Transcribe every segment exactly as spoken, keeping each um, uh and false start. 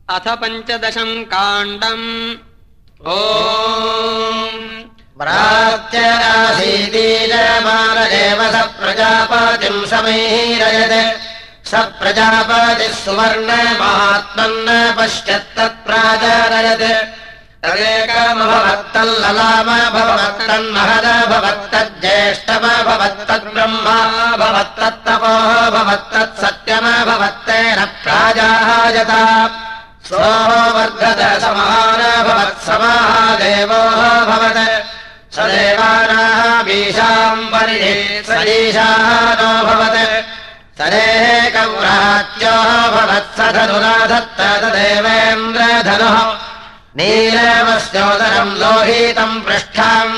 अथ पञ्चदशम् काण्डम् ओम् प्राच्यरासीदीयमान एव स प्रजापतिम् समैरयत् स प्रजापतिः सुवर्णमात्मन्न पश्यत्तत्प्राजारयत् तदेकमभवत्तल्ललामभवत्तज्येष्ठमभवत्तत्तपोभवत्तत्सत्यमभवत्तेन प्राजायत सोऽहो वर्धत समानभवत्समादेवोऽभवत् स देवानामीशाम् परिधि स ईशानोऽभवत् सरेकव्रात्योऽभवत् स धनुराधत्त तदेवेन्द्रधनुः नीलमस्योदरम् लोहितम् पृष्ठम्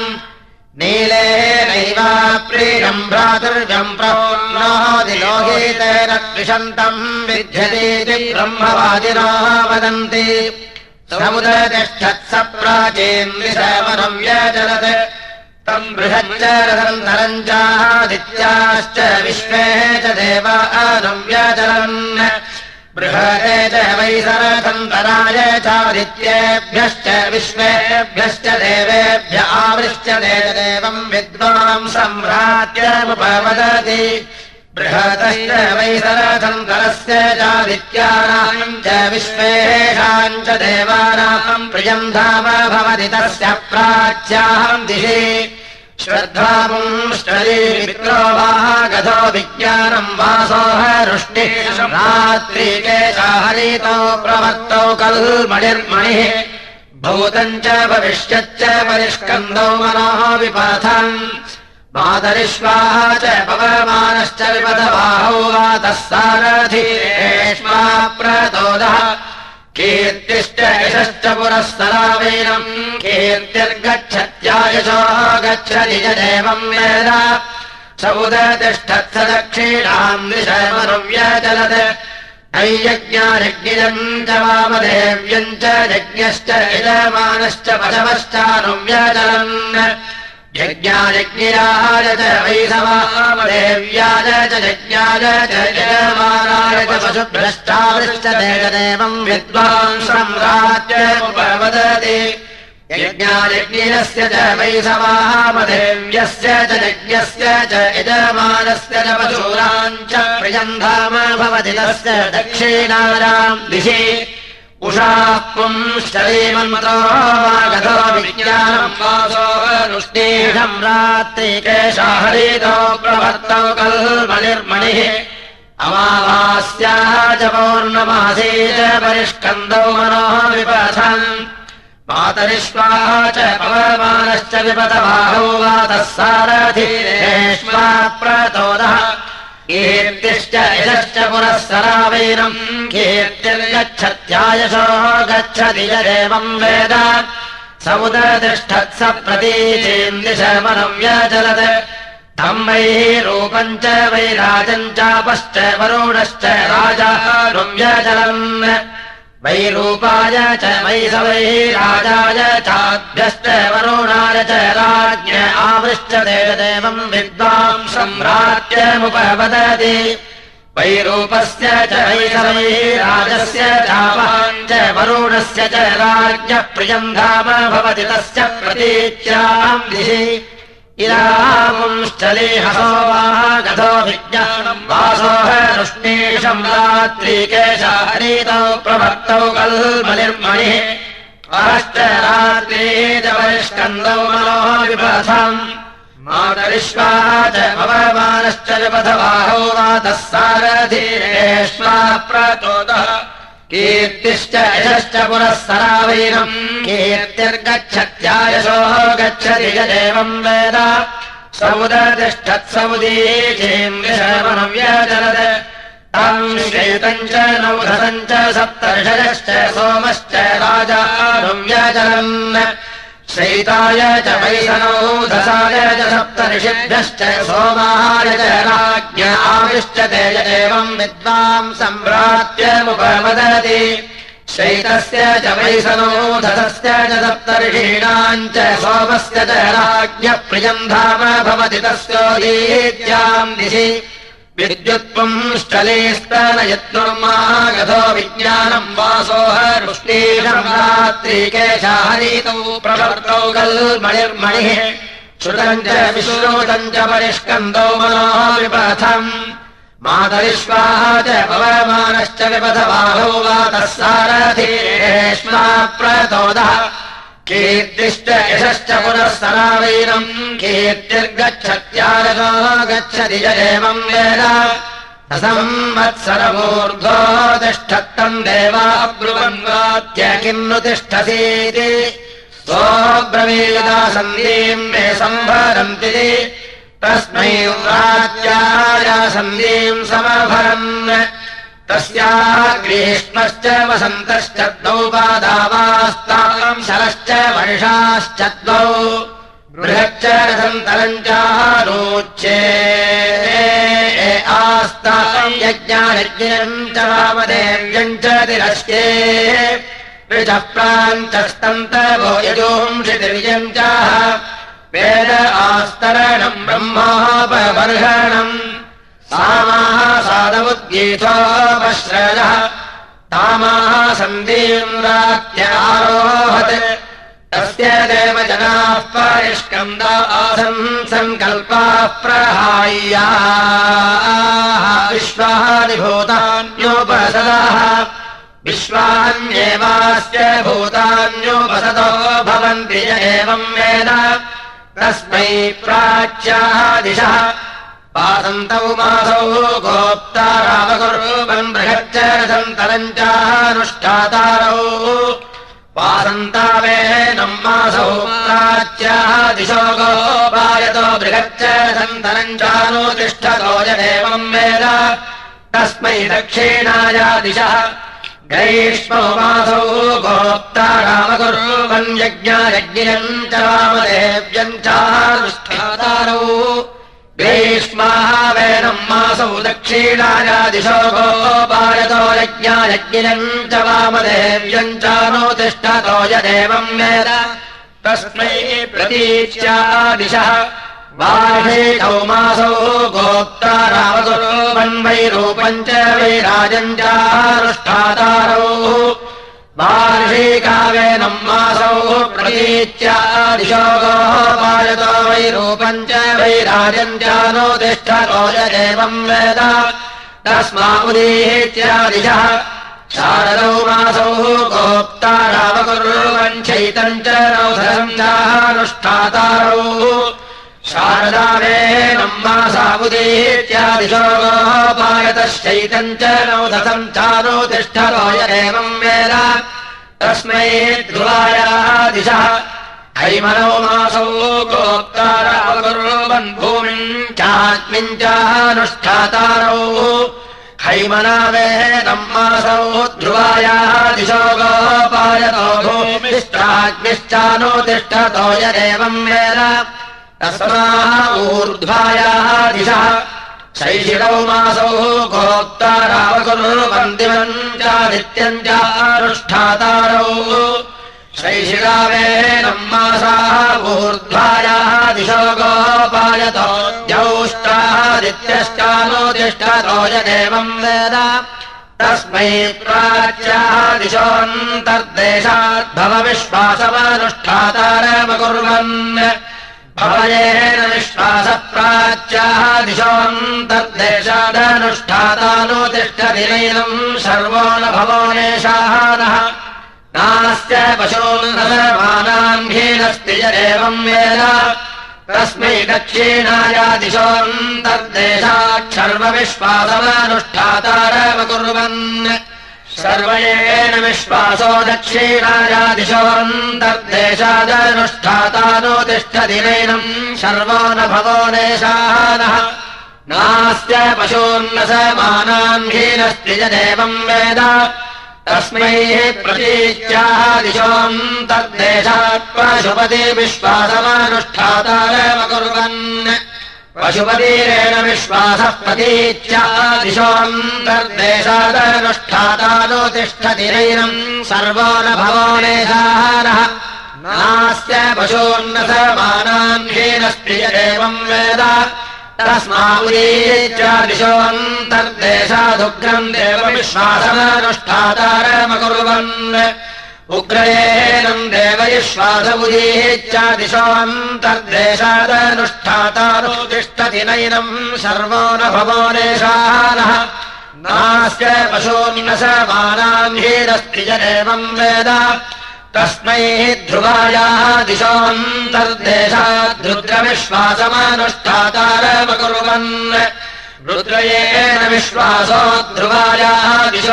नीलेनैवाप्रीयम् भ्रातुर्यम् प्रोन्नोदिलोहितेन द्विषन्तम् विध्यतीति ब्रह्मवादिनो वदन्ति समुदतिष्ठत्स प्राचीन् दिशमनम् व्यचलत् तम् बृहच्च रथन्तरम् चादित्याश्च विश्वे च देवानम् व्यचलन् बृहते च वैसरथन्तराय चादित्येभ्यश्च विश्वेभ्यश्च देवेभ्य आवृश्यते च देवम् विद्वाम् सम्भ्रात्यमुपवदति बृहतश्च वैसरथन्तरस्य चादित्यानाम् च विश्वेषाम् च देवानाम् प्रियम् धाम भवति तस्य प्राच्याहम् दिशि श्रद्धापुंश्चरी मित्रो वागधो विज्ञानम् वासो हरुष्टिः रात्रिकेशा हरितो प्रवर्तौ कल्मणिर्मणिः भूतम् च भविष्यच्च परिष्कन्दौ मनोः विपथम् मातरिश्वाः च पवमानश्च विपदबाहौ वातः सारथिरेष्मा प्रतोदः कीर्तिश्च यशश्च पुरःसरावेनम् कीर्तिर्गच्छत्यायशो गच्छति च देवम् वेद स उदतिष्ठत्स दक्षिणाम् दिशमनुव्यचलत् नैयज्ञायज्ञम् च वामदेव्यम् च यज्ञश्च यजमानश्च पशवश्चानुव्यचलन् यज्ञायज्ञाय च वैसवामदेव्याय च यज्ञाय च यजमानाय च पशुभ्रष्टावृष्टते च देवम् विद्वान् सम्राज्यमुपवदति यज्ञायज्ञस्य च वैसवामदेव्यस्य च यज्ञस्य च यजमानस्य च पशूनाम् च प्रियम् धाम भवति तस्य दक्षिणायाम् दिशि उषाः पुंश्चरीमन्मतो वागधो विज्ञानम् वासो हरुष्टिहम् रात्रिकेशा हरितो प्रवर्तौ कल्मणिर्मणिः अमावास्याः च पौर्णमासी च परिष्कन्दौ मनोः विपथम् मातरिश्वाः च पवमानश्च विपतबाहौ वातः सारथिरेष्मा प्रतोदः कीर्तिश्च यशश्च पुरःसरावेनम् कीर्तिर्गच्छत्यायशो गच्छति च देवम् वेद स उदतिष्ठत्स प्रतीचीम् दिशमनम् व्यचलत् तम् वै रूपम् च वैराजम् चापश्च वरुणश्च राजानुम् व्यचलन् वैरूपाय च वैसवै राजाय चाभ्यश्च वरुणाय च राज्ञ आवृष्टते च देवम् विद्वाम् सम्राज्यमुपवदति वैरूपस्य च वैसवै राजस्य चावाम् च वरुणस्य च राज्ञः प्रियम् धाम भवति तस्य प्रतीच्याम् दिशि इदापुंश्चलीहसो वागधो विज्ञानम् वासो हरुष्णीशम् रात्रिकेशा हरितौ प्रवर्तौ कल्मणिर्मणिः अहश्च रात्री च परिष्कन्दौ मनोः विपथम् मातरिश्वाः च पवमानश्च विपथबाहौ वातः सारथिरेष्मा प्रतोदः कीर्तिश्च यशश्च पुरःसरावेनम् कीर्तिर्गच्छत्यायशो गच्छति च देवम् वेद स उदतिष्ठत्समुदीचीम् दिशमनम् व्यचलत् तम् श्वेतम् च नौधसम् च सप्तर्षयश्च सोमश्च राजानुम् व्यचलन् श्वेताय च वैसनौधसाय च सप्तर्षिभ्यश्च सोमाय च राज्ञ आवृष्टते च देवम् विद्वाम् सम्भ्रात्यमुपवदति श्वेतस्य च वैसनौधसस्य च सप्तर्षीणाम् च सोमस्य च राज्ञः प्रियम् धाम भवति तस्योदीत्याम् दिशि विद्युत्पुंश्चलेस्तनयत्नुर्मागधो विज्ञानम् वासोहरुष्णीषम् रात्रिकेशाहरीतौ प्रवर्तौ गल्मणिर्मणिः श्रुतम् च विश्रुतम् च परिष्कन्दौ मनोः विपथम् मातरिश्वाः च पवमानश्च विपथबाहौ वातः सारथीरेष्मा प्रतोदः कीर्तिश्च यशश्च पुनः सरावैरम् कीर्तिर्गच्छत्यारतो गच्छति च एवम् वेद संवत्सरमूर्ध्वो तिष्ठत्तम् देवा ब्रुवन्वाद्य किन्नु तिष्ठसीति सोऽब्रवीदा सन्धीम् मे सम्भरन्ति तस्मै राज्याय सन्धीम् समभरन् तस्याः ग्रीष्मश्च वसन्तश्च द्वौ पादावास्ताम् शरश्च वर्षाश्च द्वौ बृहच्च रसन्तरम् चारोच्ये आस्ताम् यज्ञायज्ञम् च वामदेव्यम् च तिरस्ये ऋचः प्राञ्चस्तन्तवो यजोंषितिर्यम् चाह वेद आस्तरणम् ब्रह्मोपबर्हणम् सामाः साधमुद्गीतोपश्रयः तामाः सन्धीम् रात्यारोहत् तस्य देव जनाः परिष्कन्दा आसन् सङ्कल्पाः प्रहाय्याः विश्वानि भूतान्योपसदाः विश्वान्येवास्य भूतान्योपसदो भवन्ति य एवम् वेद तस्मै प्राच्याः दिशः वासन्तौ मासौ गोप्तारावकुर्वन् बृहच्च रसन्तरम् चानुष्ठातारौ वासन्तावेनम् मासौ प्राच्याः दिशो गोपायतो बृहच्च रसन्तरम् चानुतिष्ठतो यदेवम् वेद तस्मै दक्षिणाया दिशः ग्रीष्मौ मासौ गोप्तारावकुर्वन् यज्ञायज्ञम् च वामदेव्यम् चानुष्ठातारौ ग्रीष्माः वेनम् मासौ दक्षिणाया दिशो गोपायतो यज्ञायज्ञम् च वामदेव्यम् चानुतिष्ठतो यदेवम् वेद तस्मै प्रतीच्या दिशः वार्षिकौ मासौ गोप्तारावकुर्वन् वैरूपम् च वैराजम् चानुष्ठातारौ वार्षिकावेनम् मासौ प्रतीच्या दिशो गोपायतो वैरूपम् च वैराजम् चानुतिष्ठतो यदेवम् वेद तस्मादुदीच्या दिशः शारदौ मासौ गोप्तारावकुर्वन् चैतम् च रौधरम् चानुष्ठातारौ शारदावेनम् मासावुदीच्या दिशो गोपायतश्चैतम् च रौधसम् चानुतिष्ठतो यदेवम् वेद तस्मै ध्रुवायाः दिशः हैमनौ मासौ गोप्तारावकुर्वन् भूमिम् चाग्निम् चानुष्ठातारौ हैमनावेनम् मासौ ध्रुवायाः दिशो गोपायतो भूमिश्चाग्निश्चानुतिष्ठतो यदेवम् वेद तस्माः ऊर्ध्वायाः दिशः शैशिरौ मासौ गोप्तारावकुर्वन् दिवम् चादित्यम् चानुष्ठातारौ शैशिरावेनम् मासाः ऊर्ध्वायाः दिशो गोपायतो द्यौष्टादित्यश्चानुतिष्ठतो यदेवम् वेद तस्मै प्राच्याः दिशोऽन्तर्देशाद्भव विश्वासमनुष्ठातारमकुर्वन् भवयेन विश्वासः प्राच्याः दिशोऽन्तर्देशादनुष्ठातानुतिष्ठति नैनम् सर्वो न भवो नेशानः नास्य पशून्नमानाम् हीनस्ति यदेवम् वेद तस्मै दक्षिणाया दिशोऽन्तर्देशात् सर्वविश्वासमनुष्ठातारमकुर्वन् सर्वयेन विश्वासो दक्षिणाया दिशोऽन्तर्देशादनुष्ठातानुतिष्ठति नैनम् सर्वो न भवो नेशानः नास्य पशून्न समानाम् हीनस्ति यदेवम् वेद तस्मै प्रतीच्याः दिशोऽन्तर्देशात् पशुपति विश्वासमनुष्ठातारमकुर्वन् पशुपतिरेण विश्वासः प्रतीच्या दिशोऽन्तर्देशादनुष्ठातानुतिष्ठति नैनम् सर्वो न भवो नेशानः नास्य पशून्न समानाम् हीनस्ति यदेवम् वेद तस्मादिशोऽन्तर्देशादुग्रम् देवविश्वासमनुष्ठातारमकुर्वन् उग्रयेनम् देवयिश्वासमुदीहेच्छादिशोऽन्तर्देशादनुष्ठातारो तिष्ठति नैनम् सर्वो न भवो नेशानः नास्य पशून्न समानाम् हीरस्ति जनेवम् वेद तस्मै ध्रुवायाः दिशोऽन्तर्देशाद्रुद्रविश्वासमनुष्ठातारमकुर्वन् रुद्रयेन विश्वासो ध्रुवायाः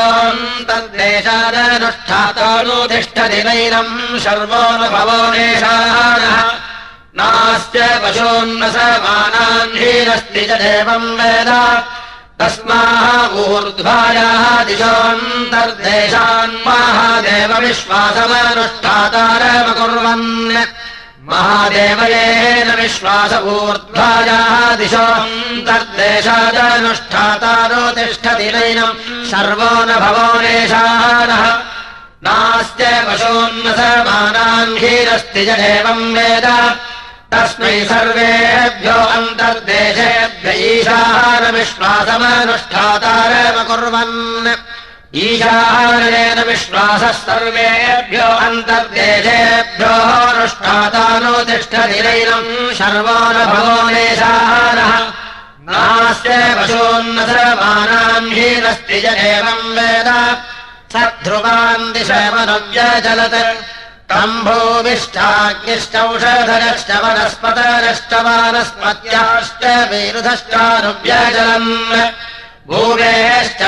दिशोऽन्तर्देशादनुष्ठातानुतिष्ठति नैनम् सर्वो न भवो नेशानः नास्य पशून्न समानाम् हीरस्ति च देवम् वेद तस्माः ऊर्ध्वायाः दिशोऽन्तर्देशान् महादेवविश्वासमनुष्ठातारमकुर्वन् महादेवयेन विश्वास ऊर्ध्वायाः दिशोऽन्तर्देशादनुष्ठातारो तिष्ठति नैनम् सर्वो न भवो नेशानः नास्य पशून्न समानाम् हीरस्ति च देवम् वेद तस्मै सर्वेभ्यो अन्तर्देशेभ्य ईशानविश्वासमनुष्ठातारमकुर्वन् ईशानेन विश्वासः सर्वेभ्यो अन्तर्देशेभ्यो अनुष्ठातानुतिष्ठति नैनम् सर्वो न भवो नेशानः नास्य पशून्न समानाम् हीनस्ति च देवम् वेद स ध्रुवान् दिशमनुव्यजलत् तम्भूविष्ठाग्निश्चौषधरश्च वनस्पतरश्च वानस्पत्याश्च विरुधश्चानुव्यजलन् भूमेश्च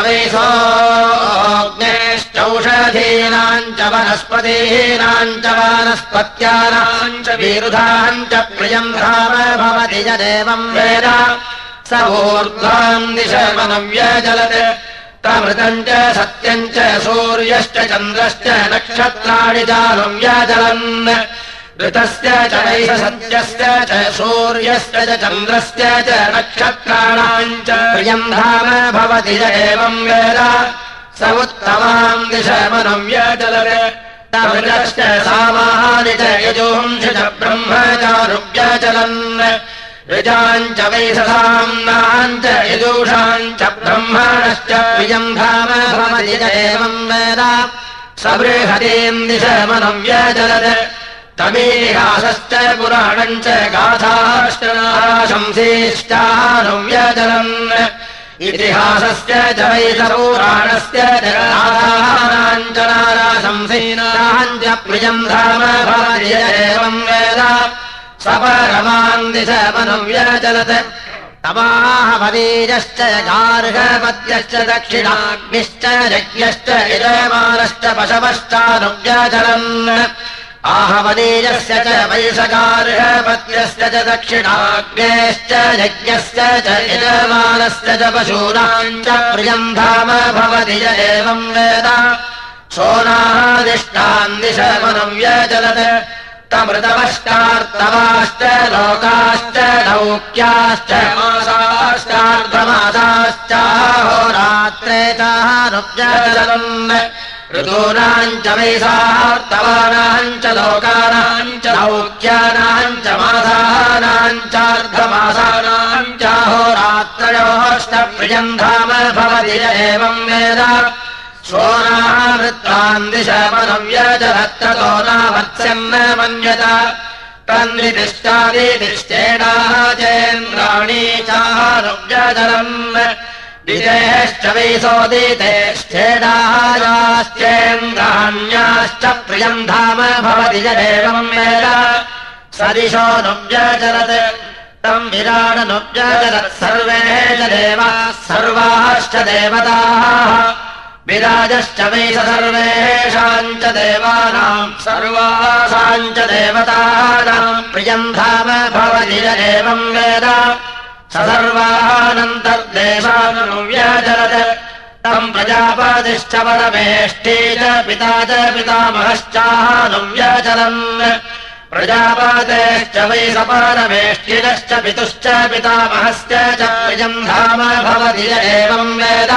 वैसोऽग्नेश्चौषधीनाम् च वनस्पतीनाम् च वानस्पत्यानाम् च विरुधाम् च प्रियम् धाम भवति च देवम् वेद स ऊर्ध्वाम् दिशमनुव्यजलत् तमृतम् च सत्यम् च सूर्यश्च चन्द्रश्च नक्षत्राणि चानुव्यजलन् ऋतस्य च वैष सत्यस्य च सूर्यस्य च चन्द्रस्य च नक्षत्राणाम् च प्रियम् धाम भवति च एवम् वेद स उत्तमाम् दिशमनुव्यजलत् तमृतश्च सामानि च यजुंषि च ब्रह्मचानुव्यजलन् ऋजाम् च वैशसाम्नाम् च यजूषाम् च ब्रह्मणश्च प्रियम् धाम भवति च एवम् वेद स बृहतीम् दिशमनुव्यजलत् तमीहासश्च पुराणम् च गाथाश्च शंसीश्चानुव्यजलन् इतिहासस्य च वैशपुराणस्य च गाथानाम् च नाराशंसीनाम् च प्रियम् धाम भवति च एवम् वेद सपरमान् दिशमनुव्यजलत् तमाहवनीयश्च गार्हपत्यश्च दक्षिणाग्निश्च यज्ञश्च यजमानश्च पशवश्चानुव्यजलन् आहवनीयस्य च वैशगार्हपत्यस्य च दक्षिणाग्नेश्च यज्ञस्य च यजमानस्य च पशूनाम् च प्रियम् धाम भवति च एवम् वेद सोनादिष्टान् दिशमनुव्यजलत् तमृतवश्चार्तवाश्च लोकाश्च लौक्याश्च मासाश्चार्धमासाश्च होरात्रे चानुव्यजलन् ऋतूनाम् च वैसार्तवानाम् च लोकानाम् च लौक्यानाम् च मासानाम् चार्धमासानाम् च होरात्रयोश्च प्रियम् धाम भवति च एवम् वेद सोनावृत्तान् दिशमनुव्यजलत्ततो नावत्स्यन्न मन्यत तन्नितिश्चादितिश्चेडाचेन्द्राणि चानुव्यजलन् दितेश्च वैसोदितेश्चेडायाश्चेन्द्राण्याश्च प्रियम् धाम भवति च एवम् वेद सदिशोऽनुव्यजलत् तम् विराडनुव्यजलत् सर्वे च देवाः सर्वाश्च देवताः विराजश्च वैष सर्वेषाम् च देवानाम् सर्वासाम् च देवतानाम् प्रियम् धाम भवति च एवम् वेद स सर्वानन्तर्देशानुव्यजलत् तम् प्रजापतिश्च परमेष्ठी च पिता च पितामहश्चानुव्यजलन् प्रजापतेश्च वैष परमेष्ठिनश्च पितुश्च पितामहश्च च प्रियम् धाम भवति च एवम् वेद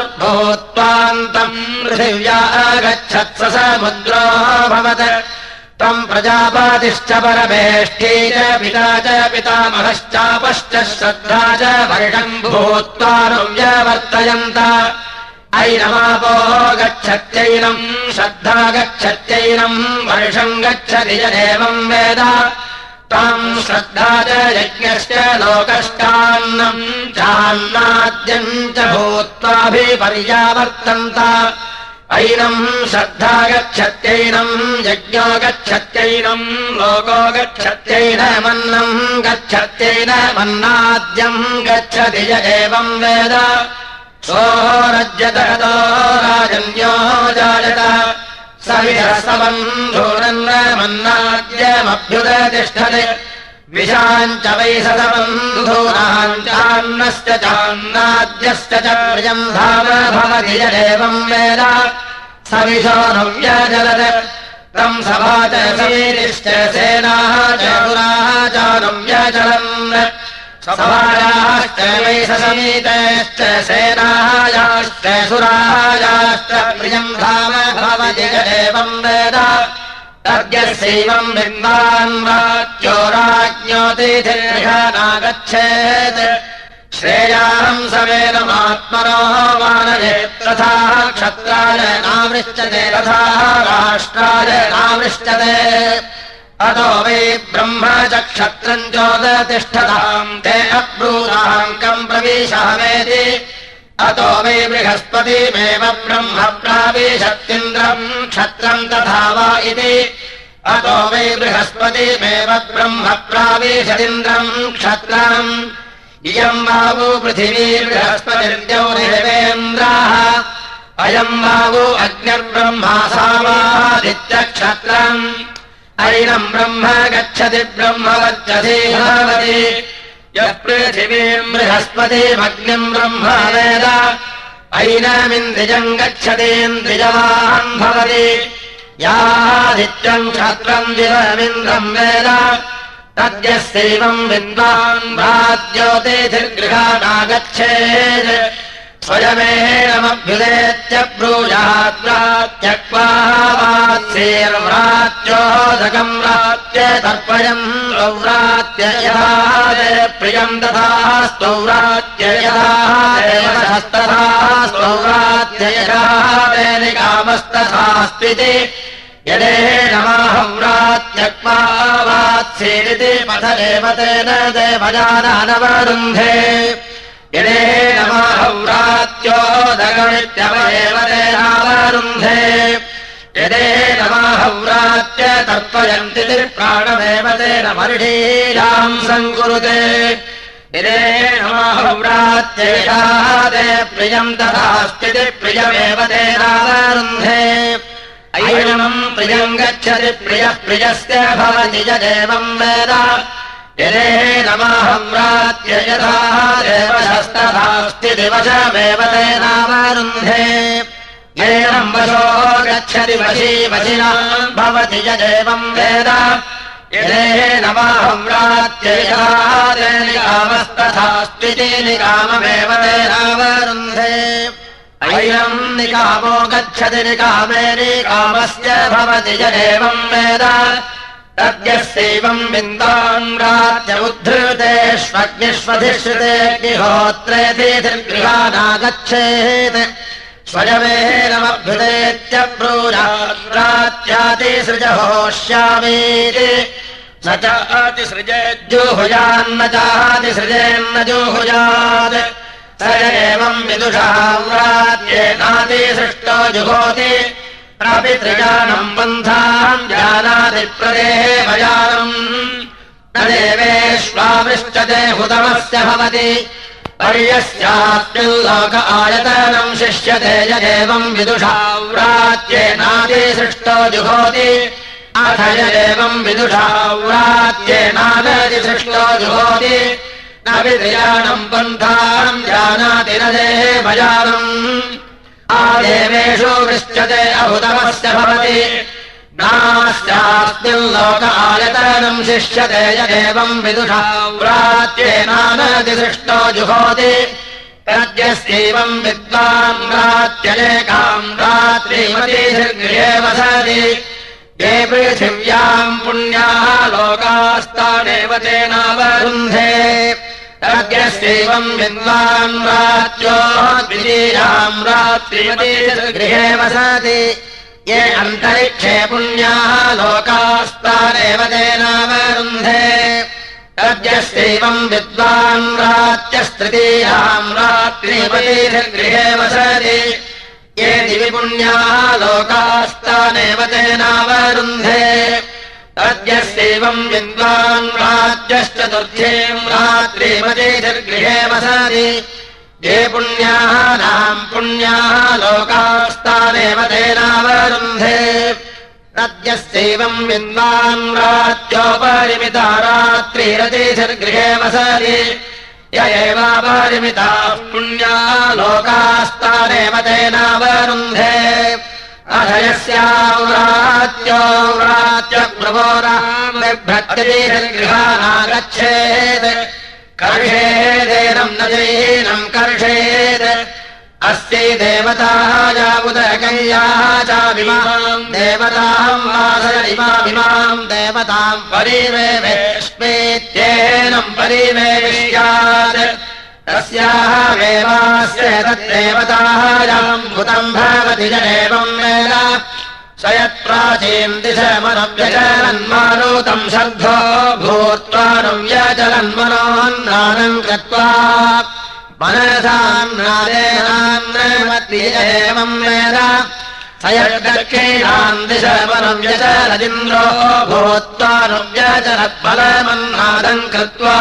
समाहिमासद्रुर्भूत्वान्तम् पृथिव्या आगच्छत् स समुद्रो भवत् त्वम् प्रजापतिश्च परमेष्ठी च पिता च पितामहश्चापश्च श्रद्धा च वर्षम् भूत्वा व्यवर्तयन्त ऐनमापो गच्छत्यैनम् श्रद्धा गच्छत्यैनम् वर्षम् गच्छति च एवम् वेद ताम् श्रद्धा च यज्ञश्च लोकश्चान्नम् चान्नाद्यम् च भूत्वाभिपर्यावर्तन्त ऐनम् श्रद्धा गच्छत्यैनम् यज्ञो गच्छत्यैनम् लोको गच्छत्यैनमन्नम् गच्छत्यैनमन्नाद्यम् गच्छति य एवम् वेद सोरज्यतो राजन्यो जायत सविधसबन्धूनन्नमन्नाद्यमभ्युदतिष्ठते विशाञ्च वैससबन्धूनाम् चान्नश्च चान्नाद्यश्च च प्रियम् धाम भवति य एवम् वेद सविशो नव्यजलत् तम् सभा च समीरिश्च सेनाः च पुराः च नव्यजलन् सभायाश्च वैससमीतश्च सेनायाश्च सुरायाश्च प्रियम् धाम भवति य एवम् वेद तद्यस्यैवम् विद्वान् वाच्यो राज्ञोतिथिर्घनागच्छेत् श्रेयाहम् सवेदमात्मनो मानयेत् तथा क्षत्राय नावृष्टते तथा राष्ट्राय नावृष्टते अतो वै ब्रह्म च क्षत्रम् चोदतिष्ठताम् ते अब्रूताङ्कम् प्रविशामेति अतो वै बृहस्पतिमेव ब्रह्म प्राविशत्तिन्द्रम् क्षत्रम् तथा वा इति अतो वै बृहस्पतिमेव ब्रह्म प्राविशदिन्द्रम् क्षत्रम् इयम् वावु पृथिवी बृहस्पतिर्द्यौ देवेन्द्राः अयम् वावु अग्निर्ब्रह्मा सावादित्यक्षत्रम् ऐनम् ब्रह्म गच्छति ब्रह्म वर्चति भवति यः पृथिवीम् बृहस्पतिमग्निम् ब्रह्म वेद ऐनमिन्द्रियम् गच्छतीन्द्रियवान् भवति यादित्यम् क्षत्रम् दिवमिन्द्रम् वेद तद्यस्यैवम् विद्वान् भ्राज्योतिथिर्गृहानागच्छेत् स्वयमेनमभ्युदेत्य ब्रूयात् व्रात्यक्वा वात्सेर्व्रात्योदकम् व्रात्य तर्पयम् स्वव्रात्य यथा प्रियम् तथा स्वव्रात्य यथा देवतस्तथा स्वव्रात्य यथा निकामस्तथास्त्विति यदेनमाहव्रात्यक्वा वात्सेरिति पथरेव तेन देवजानानवरुन्धे यदेनमाहव्रात्योदकमित्यवयेव तेनावरुन्धे यदेनमाहव्रात्य तर्पयन्ति प्राणमेव तेन मर्षीयाम् सङ्कुरुते यदेनमाहव्रात्येषा ते प्रियम् तथास्ति प्रियमेव तेनावरुन्धे ऐनम् प्रियम् गच्छति प्रियः प्रियस्य भवति य एवम् वेद यदेनमाहव्रात्य यथा देवशस्तथास्ति दिवशमेव तेनावरुन्धे येनम् वशो गच्छति वशी वशिना भवति य एवम् वेद यदेनमाहव्रात्य यथा निकामस्तथास्त्विति निकाममेव तेनावरुन्धे ऐनम् निकामो गच्छति निकामे निकामस्य भवति य एवम् वेद तद्यस्यैवम् विद्वान् राज्य उद्धृतेष्वग्निष्वधिष्ठितेऽग्निहोत्रेतिथिर्गृहानागच्छेत् स्वयमेनमभ्युदेत्य ब्रूयात् प्राच्यातिसृजहोष्यामीति न चातिसृजेज्जुहुयान्न चातिसृजेन्न जुहुयात् स एवम् विदुषा व्रात्येनातिसृष्टो जुहोति प्रापितृजानम् बन्धाम् जानाति प्रदेहभयानम् न देवेष्वावृष्टते हुतमस्य भवति पर्यस्यास्मिल्लोक आयतनम् शिष्यते य एवम् विदुषा व्रात्येनातिसृष्टो जुहोति अथ य एवम् विदुषा व्रात्येनातिसृष्टो जुहोति न पितृजानम् पन्थाम् जानाति न देहभयानम् आदेवेषु वृष्टते अहुतमस्य भवति नास्यास्मिल्लोक आयतनम् शिष्यते य एवम् विदुषा व्रात्येनातिसृष्टो जुहोति तद्यस्यैवम् विद्वान् व्रात्यलेकाम् रात्रिमतिर्गृहे वसति ये पृथिव्याम् पुण्याः लोकास्तानेव तेनावरुन्धे तद्यस्यैवम् विद्वान् रात्यो द्वितीयाम् रात्रिमती गृहे वसति ये अन्तरिक्षे पुण्याः लोकास्तानेव तेनावरुन्धे तद्यस्यैवम् विद्वान् रात्यस्तृतीयाम् रात्रिमती गृहे वसति ये दिवि पुण्याः लोकास्तानेव तेनावरुन्धे तद्यस्यैवम् विद्वान् राज्यश्चतुर्थीम् रात्रिमतीर्गृहे वसति ये पुण्याः नाम् पुण्याः लोकास्तानेव तेनावरुन्धे तद्यस्यैवम् विद्वान् राज्योपरिमिता रात्रिरतीर्गृहे वसति य एवापरिमिताः पुण्याः लोकास्तानेव तेनावरुन्धे अथ यस्याव्रात्यो व्रात्यप्रभोराम् बिभ्रत्यतीर्गृहानागच्छेत् कर्षेदेनम् न जैनम् कर्षेत् अस्यै देवताः उदकैयाः चाभिमाम् देवताम् वासय इमाभिमाम् देवताम् परिवेवेष्मेत्येनम् परिवेश्यात् तस्याः वेवास्य तद्देवतायाम् भूतम् भवति च एवम् वेद स यत्प्राचीम् दिशमनव्यचलन्मारुतम् शर्धो भूत्वानुव्यचलन्मनोन्नादम् कृत्वा मनसान्नादेनान्नमति एवम् वेद स यद्दक्षिणाम् दिशमनव्यचलदिन्द्रो भूत्वानुव्यचलद्बलमन्नादम् कृत्वा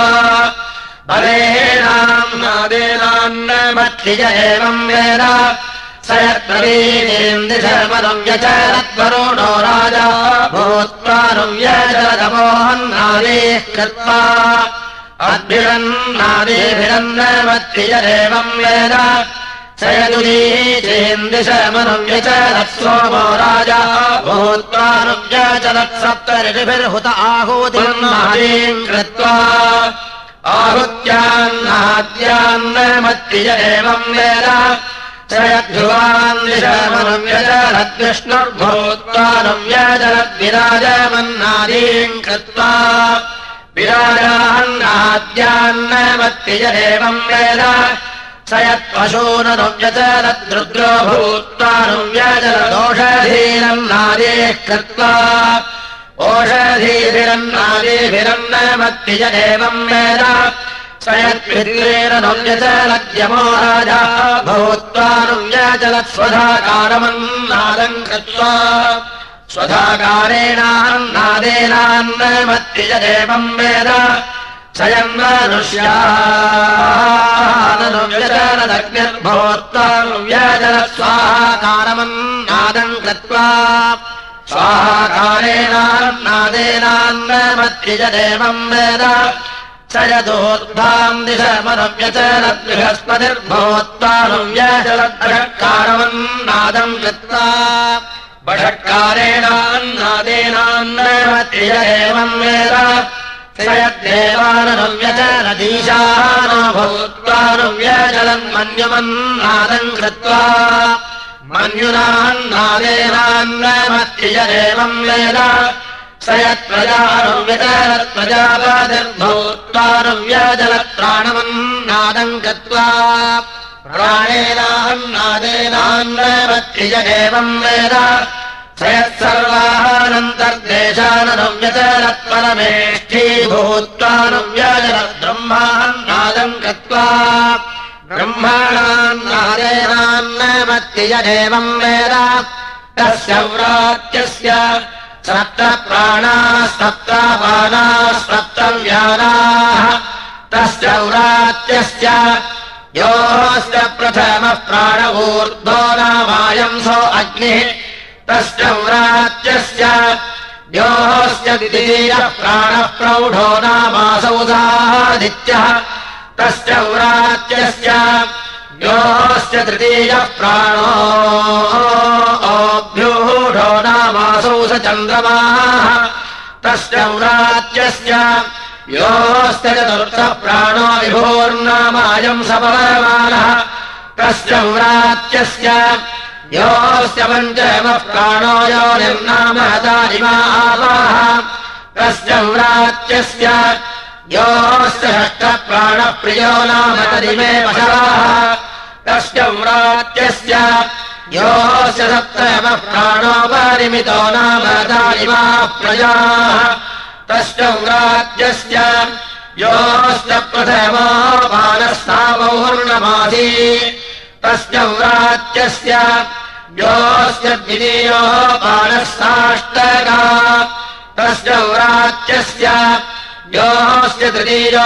बलेनाम् नादेनान्नमति च एवम् वेद स यत्प्रवीणीम् दिशमनुव्यचलद्वरुणो राजा भूत्वानुव्यचलदमोहन्नादीः कृत्वा अद्भिरन्नादीभिरन्नमति च एवम् वेद स यदुदीचीम् दिशमनुव्यचलत्सोमो राजा भूत्वानुव्यचलत्सप्तऋषिभिर्हुत आहूतिर्नादीम् कृत्वा आहुत्यान्नाद्यान्नमति च एवम् वेद स यद्ध्रुवान् दिशमनुव्यचलद्विष्णुर्भूत्वानुव्यचलद्विराजमन्नादीम् कृत्वा विराजान्नाद्यान्नमति च एवम् वेद स यत्पशूननुव्यचलद्रुद्रो भूत्वानुव्यचलदोषधीरन्नादीः कृत्वा ओषधीभिरन्नादीभिरन्नमति च एवम् वेद स यत्पितृरनुव्यचलद्यमो राजा भूत्वानुव्यचलत्स्वधाकारमन्नादम् कृत्वा स्वधाकारेणान्नादेनान्नमति च एवम् वेद स यन्मनुष्याननुव्यचलदग्निर्भूत्वानुव्यचलत्स्वाहाकारमन्नादम् कृत्वा स्वाहाकारेणान्नादेनान्नमति च एवम् वेद स यदोद्धाम् दिशमनुव्यचलद्बृहस्पतिर्भूत्वानुव्यचलद्बषट्कारमन्नादम् कृत्वा बषट्कारेणान्नादेनान्नमति च एवम् वेद स यद्देवाननुव्यचलदीशानो भूत्वानुव्यचलन्मन्युमन्नादम् कृत्वा मन्युनान्नादेनान्नमति च एवम् वेद स यत्प्रजानुव्यचलत्प्रजापतिर्भूत्वानुव्यचलत्प्राणमन्नादम् कृत्वा प्राणेनान्नादेनान्नमति च एवम् वेद स यत्सर्वानन्तर्देशाननुव्यचलत्परमेष्ठीभूत्वानुव्यचलद्ब्रह्मान्नादम् कृत्वा ब्रह्माणान्नादेनान्नमति च एवम् वेद तस्य व्रात्यस्य सप्त प्राणाः सप्तापानाः सप्तव्यानाः तस्य व्रात्यस्य योऽस्य प्रथमः प्राण ऊर्ध्वो नामायंसो अग्निः तस्य व्रात्यस्य योऽस्य द्वितीयः प्राणः प्रौढो नामासौदादित्यः तस्य व्रात्यस्य योऽस्य तृतीयः प्राणो अभ्यूढो नामासौ स चन्द्रमाः तस्य व्रात्यस्य योऽस्य चतुर्थः प्राणो विभोर्नामायम् सपरमानः तस्य व्रात्यस्य योऽस्य पञ्चमः प्राणो यो निर्नामहतारिमा आवाह तस्य व्रात्यस्य योऽस्य षष्ठः प्राणः प्रियो नाम तरिमे पशवाः तस्य व्रात्यस्य योऽस्य सप्तमः प्राणो परिमितो नाम तारिमाः प्रजाः तस्य व्रात्यस्य योऽस्य प्रथमो बालस्तावौर्णमासी तस्य व्रात्यस्य योऽस्य द्वितीयो बालस्ताष्टका तस्य व्रात्यस्य योऽस्य तृतीयो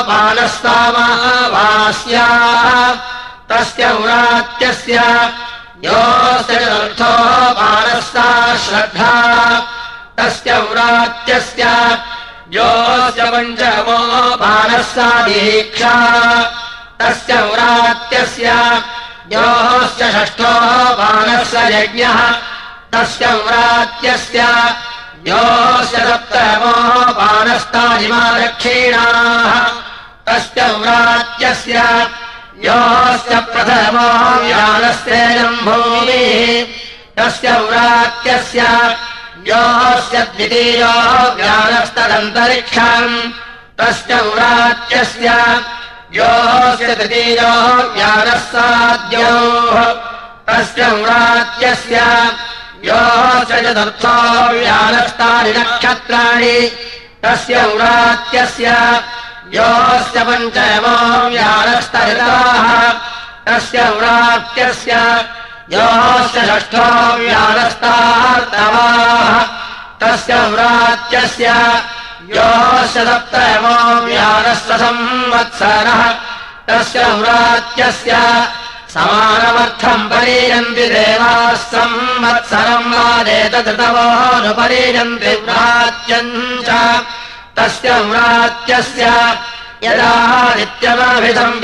बालस्तामावास्या तस्य व्रात्यस्य योऽस्य चतुर्थो बालस्ता श्रद्धा तस्य व्रात्यस्य योऽस्य पञ्चमो बालस्ता दीक्षा तस्य व्रात्यस्य योऽस्य षष्ठो बालस्य यज्ञः तस्य व्रात्यस्य योऽस्य सप्तमो बालस्तारिमा दक्षिणाः तस्य व्रात्यस्य योऽस्य प्रथमो व्यानस्तेजम् भूमिः तस्य व्रात्यस्य योऽस्य द्वितीयो व्यानस्तदन्तरिक्षम् तस्य व्रात्यस्य योऽस्य तृतीयो व्यानस्साद्योः तस्य व्रात्यस्य योऽस्य चतुर्थो व्यानस्तानि नक्षत्राणि तस्य व्रात्यस्य योऽस्य पञ्चमो व्यानस्तरिताः तस्य व्रात्यस्य योऽस्य षष्ठो व्यानस्तार्तवाः तस्य व्रात्यस्य योऽस्य सप्तमो व्यानस्य संवत्सरः तस्य व्रात्यस्य समानमर्थम् परीयन्ति देवाः संवत्सरम् वादेतदृतवोऽनुपरीयन्ति व्रात्यम् च तस्य व्रात्यस्य यदा नित्यमाभिधम्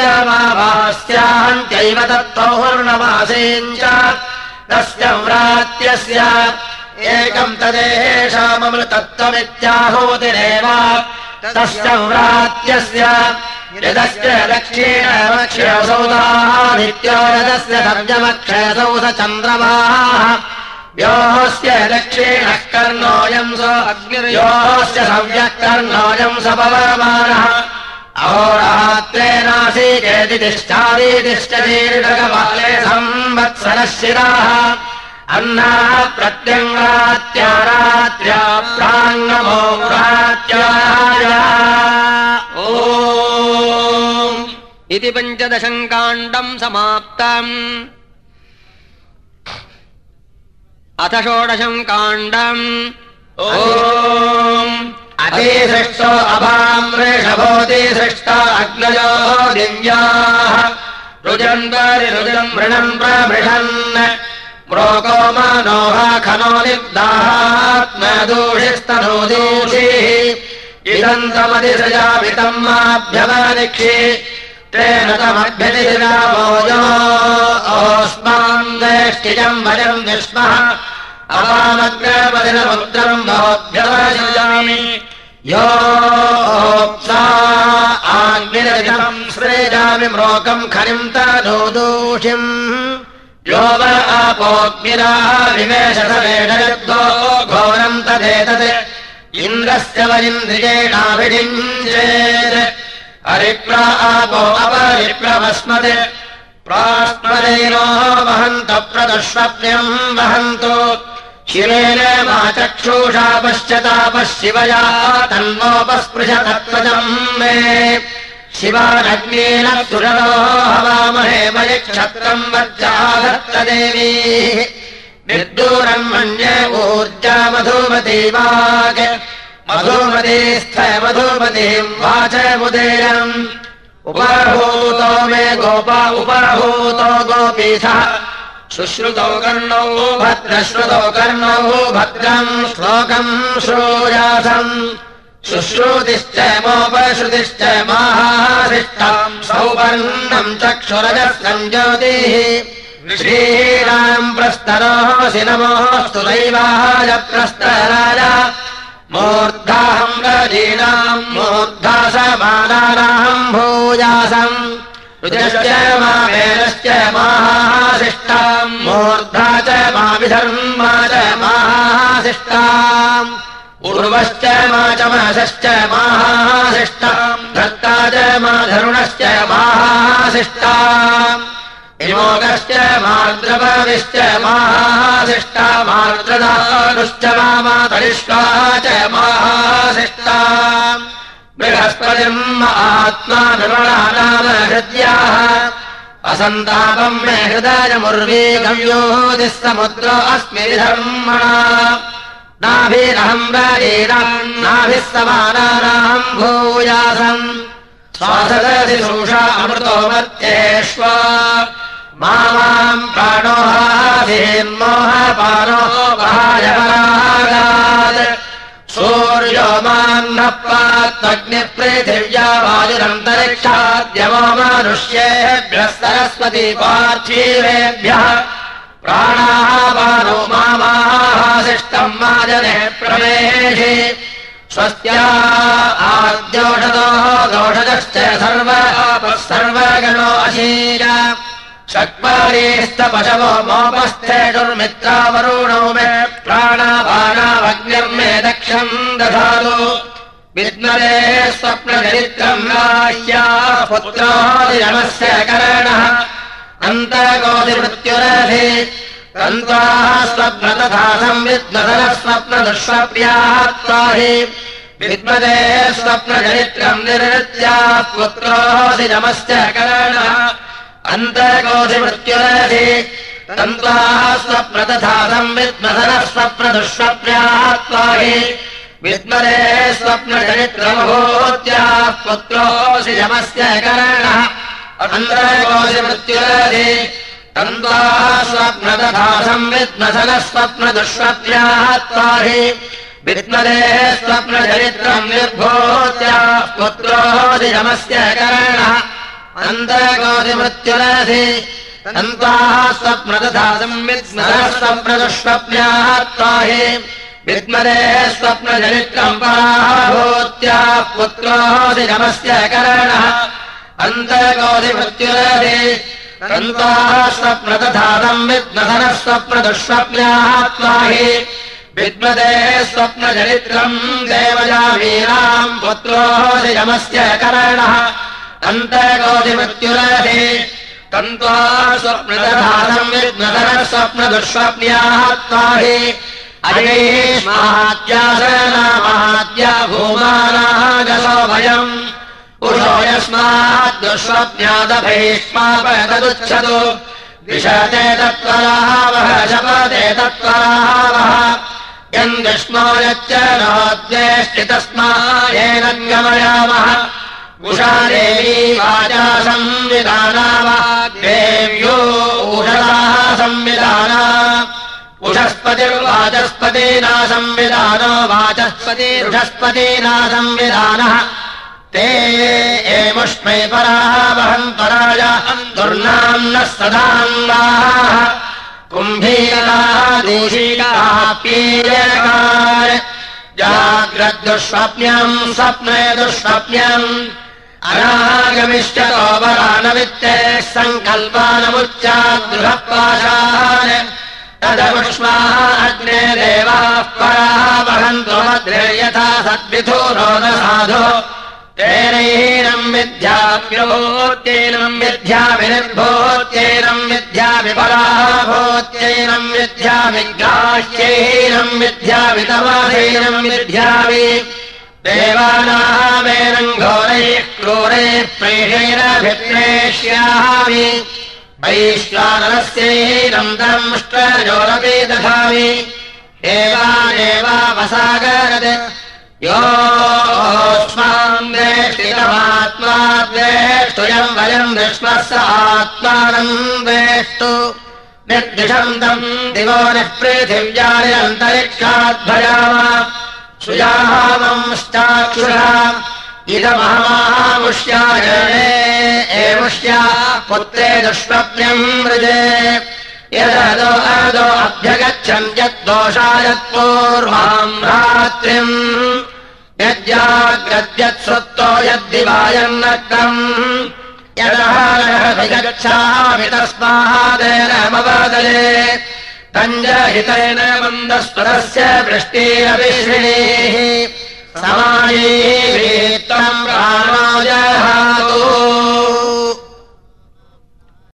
विसञ्जमावास्यान्त्यैव तत्पौर्णमासेम् च तस्य व्रात्यस्य एकम् तदेषाममृतत्वमित्याहूतिरेव तस्य व्रात्यस्य यदस्य दक्षिणमक्षयसौदादित्यो यदस्य सर्जमक्षयसौध चन्द्रमाः योऽस्य दक्षिणः कर्णोऽयम् स अग्निर्योऽस्य सव्यः कर्णोऽयम् स पवमानः अहोरात्रेणासीकेति तिष्ठादितिष्ठतीर्घकाले संवत्सरः शिराः अन्नाः प्रत्यङ्गात्या रात्र्या प्राङ्गमो व्रात्याय ॐ इति पञ्चदशम् काण्डम् समाप्तम् अथ षोडशम् काण्डम् ॐ अतिसृष्टो अभाम् वृषभोऽतिसृष्टा अग्नयो दिव्याः रुजन् परिरुजन् मृणन् प्रमृषन् म्रोको मनोह खनो निर्दाहात्मदूषिस्तनोदूषिः इदम् तमतिसृजामितम् माभ्यवनिक्षि तेन तमभ्यतिरामोजो ओस्मान् वेष्टिजम् वयम् विस्मः अवामग्रपदिनमुद्रम् भवद्भ्यवसृजामि योऽप्सा आग्निरजम् सृजामि म्रोकम् खनिम् तनोदूषिम् यो व आपोऽग्निराः विवेशसमेषयुद्धो घोरम् तदेतत् इन्द्रस्य वरिन्द्रियेणाभिषिञ्चेत् हरिप्रा आपो अपरिप्लवस्मत् प्रास्मदेनो वहन्तः प्रदुष्वप्न्यम् वहन्तु शिरेण मा चक्षुषा पश्यतापः शिवया तन्नोपस्पृशतत्त्वजम् मे शिवानग्नेन सुरलो हवामहे मयि क्षत्रम् वज्राधत्तदेवी निर्दूरम् मन्ये ऊर्जा मधुमती वाक् मधुमतीस्थ मधुमतीम् वाचमुदीरम् उपहूतो मे गोपा उपहूतो गोपीशः शुश्रुतौ कर्णौ भद्रश्रुतौ कर्णौ भद्रम् श्लोकम् श्रूयासम् शुश्रुतिश्च मोपश्रुतिश्च महाशिष्टाम् सौवर्णम् चक्षुरजः सञ्ज्योतिः श्रीराम् प्रस्तरोऽसि नमोऽस्तु दैवाय प्रस्तराय मूर्धाहम् रजीनाम् मूर्धासमानानाम् भूयासम् रुजश्च मा वेदश्च माहाशिष्टाम् मूर्धा च मा विधर्मा च माहाशिष्टाम् उर्वश्च मा चमसश्च माहाशिष्टाम् धर्ता च मा धरुणश्च माहाशिष्टाम् विमोगश्च मार्द्रवविश्च माहाशिष्टा मार्द्रदानुश्च मातरिष्वा च माहाशिष्टाम् बृहस्पतिम् आत्मा निर्मलानाम हृद्याः असन्तापम् मे हृदयमुर्वी गम्योदिः समुद्रो अस्मि धर्मणा नाभिरहम् वरीणाम् नाभिः समानानाम् भूयासम् स्वासदसि शोषा अमृतो मर्त्येष्व मामाम् प्राणो हाभिर्मोहपानो वहायपरागात् सूर्यो मान्नः पात्वग्निपृथिव्या वायुरन्तरिक्षाद्यवो मनुष्येभ्यः सरस्वती पार्थिवेभ्यः प्राणापानो मामाशिष्टम् माजने प्रवेशे स्वस्त्या आद्योषदो दोषजश्च सर्व सर्वगणो अशीर षट्परीस्तपशवो मोपस्थेषुर्मित्रावरुणो मे प्राणापानावग्निर्मे दक्षम् दधातु विद्मरे स्वप्नचरित्रम् राह्या पुत्रोऽधिरमस्य करणः अन्तर्गोधिमृत्युरधि तन्त्वाः स्वप्न तथा संविद्मधनः स्वप्नदुष्वप्यात्वाहि विद्मदे स्वप्नचरित्रम् निरृत्याः पुत्रोऽधिरमस्य करणः अन्तर्गोधिमृत्युरधि तन्त्वाः स्वप्न तथा संविद्मधनः स्वप्नदुष्वप्यात्वाहि विद्मरे स्वप्नचरित्रमभूत्याः पुत्रोऽधिरमस्य करणः अन्तर्गोधिमृत्युरधि तन्त्वाः स्वप्न तथा संविद्मधनः स्वप्नदुष्वप्यात्वाहि विद्मरे स्वप्नचरित्रम् निर्भूत्याः पुत्रोऽधिरमस्य करणः अन्तर्गोधिमृत्युरधि तन्त्वाः स्वप्न तथा संविद्मधनः स्वप्नदुष्वप्यात्वाहि विद्मरे स्वप्नचरित्रम् पराभूत्याः पुत्रोऽधिरमस्य करणः अन्तर्गोधिमृत्युरधि तन्त्वाः स्वप्न तथा संविद्मधनः स्वप्नदुष्वप्यात्वाहि विद्मदे स्वप्नचरित्रम् देवयामीनाम् पुत्रोऽधिरमस्य करणः अन्तर्गोधिमृत्युरधि तन्त्वाः स्वप्न तथा संविद्मधनः स्वप्नदुष्वप्यात्वाहि अजयेष्माद्यासनामाद्या भूमानागसो भयम् पुरुषो यस्मात् दुष्वप्न्यादभैष्मापदुच्छतु विशते तत्त्वरावः शपते तत्त्वरावः यम् दुष्मो यच्च नोद्वेष्टि तस्मा येन गमयामः उषा देवी वाचा संविधाना देव्यो उषसाः संविधाना उषस्पतिर्वाचस्पतीना संविधानो वाचस्पतिरुषस्पतीना संविधानः ते एमुष्मै पराः वहन् पराय दुर्नाम्नः सदान्वाः कुम्भीराः दूषिकाः पीयकाः जाग्रद्दुष्वप्न्यम् स्वप्ने दुष्वप्न्यम् अनागमिष्यतो वरानवित्ते सङ्कल्पानमुच्चाद्गृहपाशान् तदमुष्माः अग्ने देवाः पराः वहन्तु मद्रे यथा सद्विधूरो न साधो तेनैनम् विद्याभ्योत्यैनम् विद्याभिनिर्भूत्यैनम् विद्याभिपराभूत्यैनम् विद्याभिग्राह्यैनम् विद्याभितमाधैनम् विद्याभि देवानामेनम् घोरैः क्रूरैः प्रेषैरभिप्रेष्यामि वैश्वानरस्यैनम् दंष्ट्रजोरपि दधामि देवानेवावसागरत् योऽस्मान् द्वेष्टितमात्मा द्वेष्टुयम् वयम् विश्वः स आत्मानम् द्वेष्टु निर्दिशन्तम् दिवो निः पृथिव्यानि अन्तरिक्षाद्भयाम सुयामंश्चाक्षुषा इदमहमामुष्यायणे एमुष्या पुत्रे दुष्वप्न्यम् मृजे यदो अदो अभ्यगच्छन् यद्दोषायत्पूर्वाम् रात्रिम् यज्जाग्रद्यत्सुप्तो यद्दिवायन्नक्रम् यदहरः विगच्छामि तस्मादेनमवदले तञ्जहितेन मन्दस्वरस्य वृष्टिरविश्रिणीः समायीः त्वम् प्राणाय